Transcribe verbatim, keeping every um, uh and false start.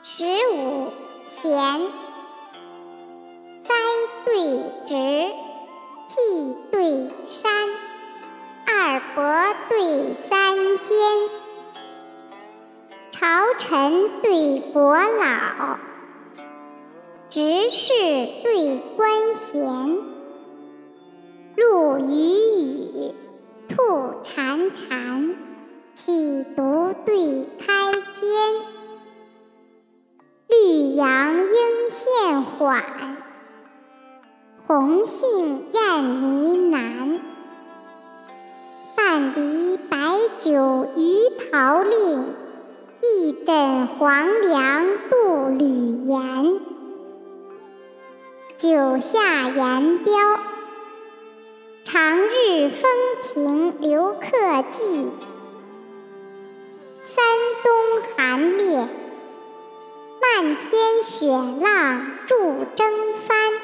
十五弦，栽对直，替对山，二伯对三间，朝臣对国老，执事对官衔，陆羽羽，兔潺潺，起独对开间，绿杨应现缓，红杏燕呢喃，半篱白酒鱼桃令，一枕黄粱度旅言。九下言标，长日风停留客骑，三冬寒冽，漫天雪浪助征帆。